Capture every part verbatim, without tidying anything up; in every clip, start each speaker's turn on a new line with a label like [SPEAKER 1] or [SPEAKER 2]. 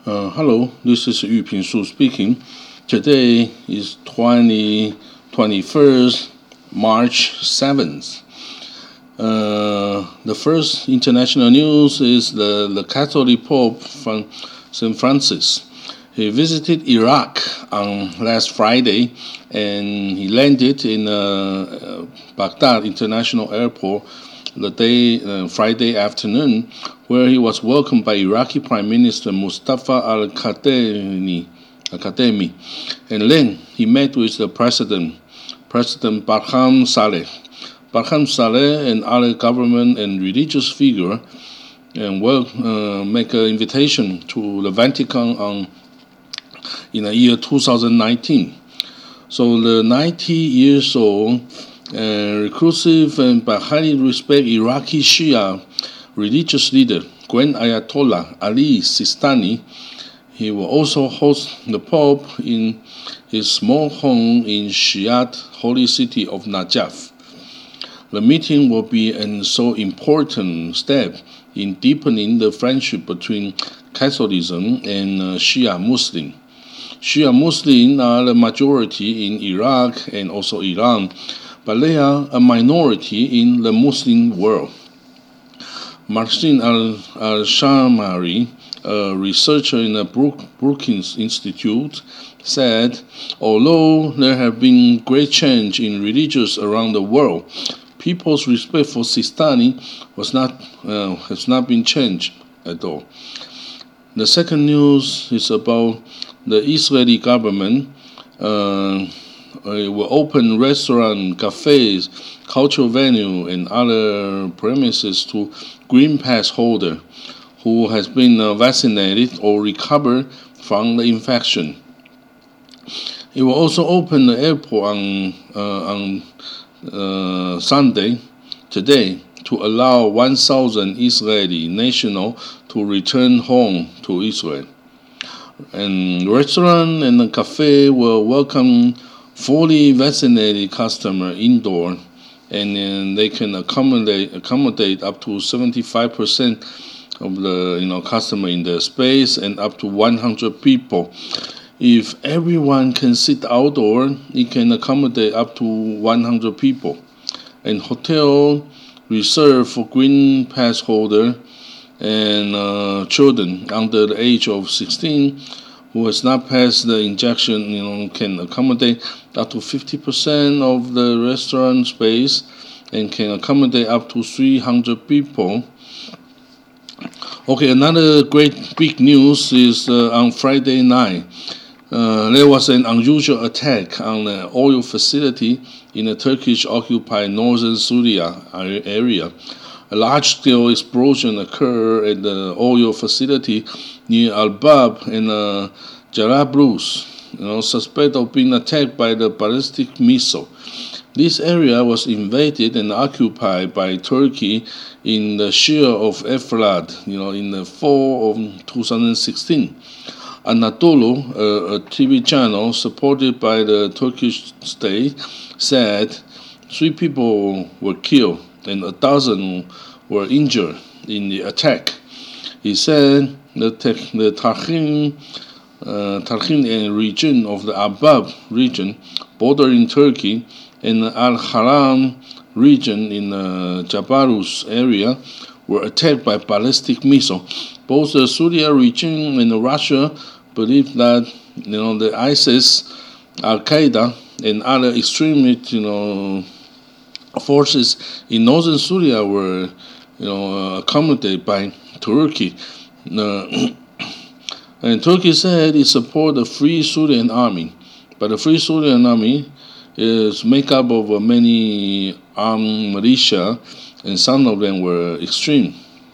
[SPEAKER 1] Uh, hello, this is Yu Ping Su speaking. Today is twenty twenty-first, March seventh. Uh, the first international news is the, the Catholic Pope from Saint Francis. He visited Iraq on last Friday and he landed in uh, Baghdad International Airport the day uh, Friday afternoon, where he was welcomed by Iraqi Prime Minister Mustafa al-Kadhimi. Al-Kadhimi. And then he met with the President, President Barham Saleh. Barham Saleh and other government and religious figures and will uh, make an invitation to the Vatican on in the year two thousand nineteen. So the ninety years old uh, reclusive and but highly respected Iraqi Shia religious leader Grand Ayatollah Ali Sistani, he will also host the Pope in his small home in Shiite holy city of Najaf. The meeting will be an so important step in deepening the friendship between Catholicism and uh, Shia Muslim. Shia Muslims are the majority in Iraq and also Iran, but they are a minority in the Muslim world. Marcin al-Shamari, a researcher in the Brook, Brookings Institute, said, although there have been great change in religions around the world, people's respect for Sistani was not, uh, has not been changed at all. The second news is about the Israeli government uh, will open restaurants, cafes, cultural venue, and other premises to Green Pass holder who has been uh, vaccinated or recovered from the infection. It will also open the airport on, uh, on uh, Sunday, today, to allow one thousand Israeli nationals to return home to Israel. And the restaurant and the cafe will welcome fully vaccinated customers indoor, and then they can accommodate accommodate up to seventy-five percent of the you know customer in the space and up to one hundred people. If everyone can sit outdoor, it can accommodate up to one hundred people. And hotel reserved for Green Pass holder and uh, children under the age of sixteen who has not passed the injection, you know, can accommodate up to fifty percent of the restaurant space and can accommodate up to three hundred people. Okay, another great big news is uh, on Friday night. Uh, there was an unusual attack on an oil facility in the Turkish-occupied northern Syria area. A large-scale explosion occurred at the oil facility near Al-Bab and uh, Jarablus, you know, suspected of being attacked by the ballistic missile. This area was invaded and occupied by Turkey in the Shire of Efrat, you know, in the fall of two thousand sixteen. Anadolu, uh, a T V channel supported by the Turkish state, said three people were killed and a dozen were injured in the attack. He said the, te- the Tarhin, uh, Tarhin region of the Abab region, bordering Turkey, and the Al-Haram region in the Jabalus area were attacked by ballistic missiles. Both the Syria region and Russia believe that you know the ISIS, Al-Qaeda, and other extremist you know forces in northern Syria were you know accommodated by Turkey. Uh, and Turkey said it supported the Free Syrian Army, but the Free Syrian Army is made up of uh, many armed militia, and some of them were extreme.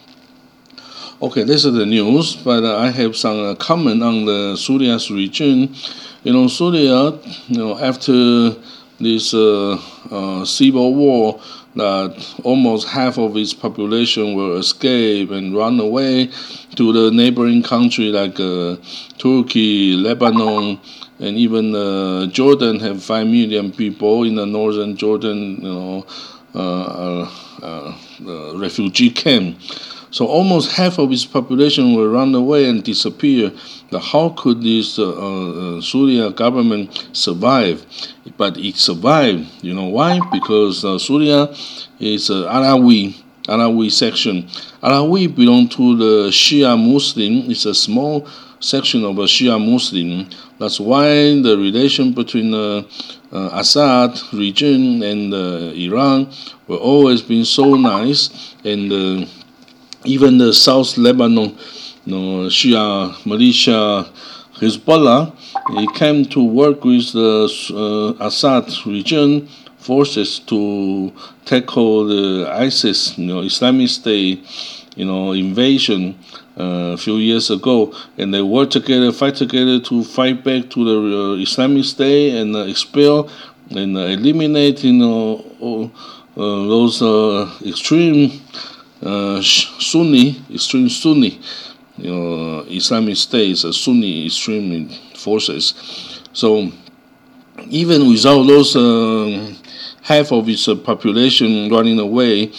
[SPEAKER 1] Okay, this is the news, but uh, I have some uh, comment on the Syria's region. You know, Syria, you know, after this uh, uh, civil war, that almost half of its population will escape and run away to the neighboring country like uh, Turkey, Lebanon, and even uh, Jordan have five million people in the northern Jordan, you know, uh, uh, uh, refugee camp. So almost half of its population will run away and disappear. Now, how could this uh, uh, Syria government survive? But it survived. You know why? Because uh, Syria is uh, Alawi, Alawi section. Alawi belong to the Shia Muslim. It's a small section of a Shia Muslim. That's why the relation between uh, uh, Assad region and uh, Iran will always been so nice, and uh, even the South Lebanon, you know, Shia militia Hezbollah, it came to work with the uh, Assad region forces to tackle the ISIS, you know, Islamic State, you know, invasion uh, a few years ago, and they work together, fight together to fight back to the uh, Islamic State and uh, expel and uh, eliminate, you know, uh, those uh, extreme uh, Sunni, extreme Sunni, you know, Islamic States, uh, Sunni extreme forces. So even without those uh, half of its uh, population running away, it,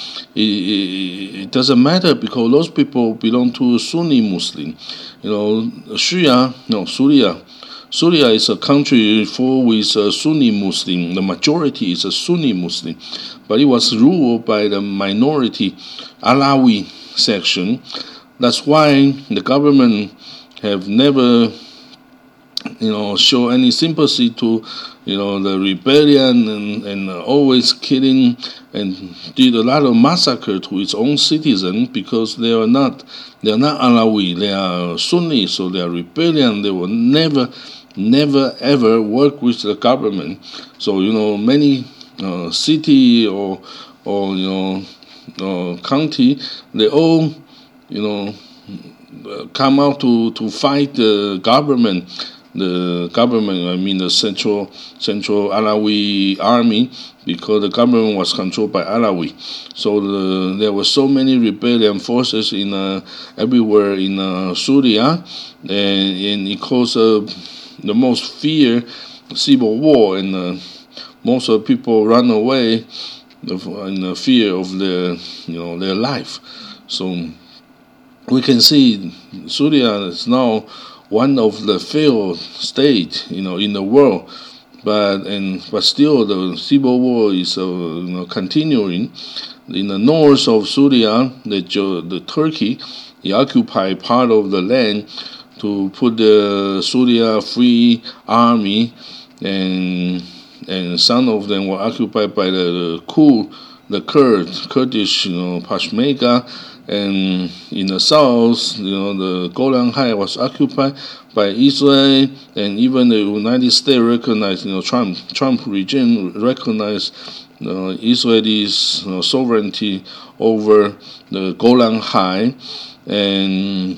[SPEAKER 1] it, it doesn't matter because those people belong to Sunni Muslim. You know, Shia, no, Syria. Syria is a country full with uh, Sunni Muslim. The majority is a Sunni Muslim, but it was ruled by the minority Alawi section. That's why the government have never, you know, show any sympathy to, you know, the rebellion and, and always killing and did a lot of massacre to its own citizens because they are not they are not Alawi, they are Sunni, so they are rebellion. They will never, never ever work with the government. So you know, many uh, city or or you know uh, county, they all you know come out to to fight the government. The government, I mean the central central Alawi army, because the government was controlled by Alawi. So the, there were so many rebellion forces in uh, everywhere in uh, Syria, and, and it caused uh, the most fear civil war, and uh, most of the people run away in the fear of their you know their life. So we can see Syria is now one of the failed states, you know, in the world, but and but still the civil war is uh, you know continuing. In the north of Syria, the the Turkey, he occupied part of the land to put the Syria Free Army, and and some of them were occupied by the, the Kurd, the Kurd, Kurdish, you know, Peshmerga. And in the south, you know, the Golan Heights was occupied by Israel, and even the United States recognized, you know, Trump Trump regime recognized uh, Israel's you know, sovereignty over the Golan Heights, and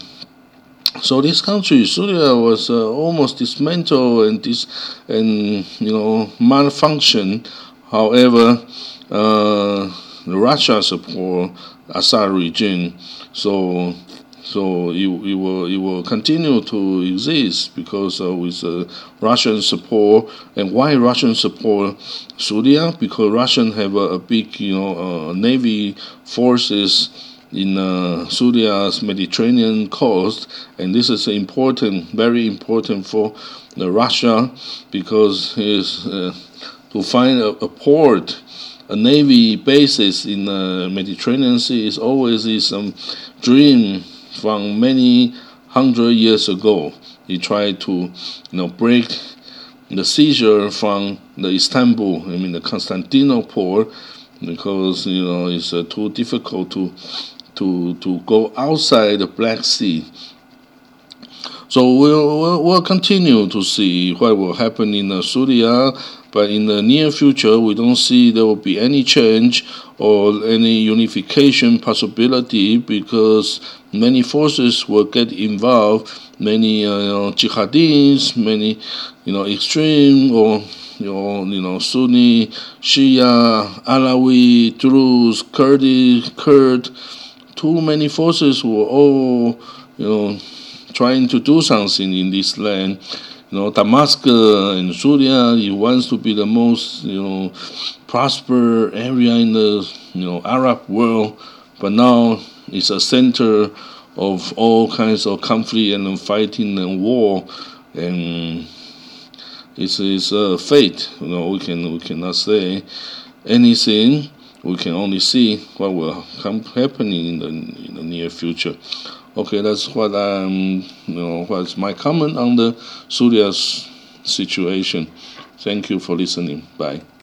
[SPEAKER 1] so this country, Syria, was uh, almost dismantled and dis and you know malfunction. However, uh, Russia support Assad regime, so so it, it will it will continue to exist because uh, with uh, Russian support. And why Russian support Syria? Because Russian have a, a big you know uh, navy forces in uh, Syria's Mediterranean coast, and this is important, very important for uh, Russia, because is uh, to find a, a port. A navy basis in the Mediterranean Sea is always is some dream from many hundred years ago. He tried to, you know, break the seizure from the Istanbul, I mean the Constantinople, because you know it's uh, too difficult to to to go outside the Black Sea. So we'll, we'll, we'll continue to see what will happen in uh, Syria, but in the near future, we don't see there will be any change or any unification possibility, because many forces will get involved, many uh, you know, jihadists, many you know extreme or you know you know Sunni, Shia, Alawi, Druze, Kurdish, Kurd, too many forces who are all you know trying to do something in this land. You know, Damascus and Syria, it wants to be the most, you know, prosperous area in the, you know, Arab world. But now is a center of all kinds of conflict and fighting and war, and it's, it's a fate. You know, we can we cannot say anything. We can only see what will come happening in the in the near future. Okay, that's what I'm. You know, what's my comment on the Syria's situation. Thank you for listening. Bye.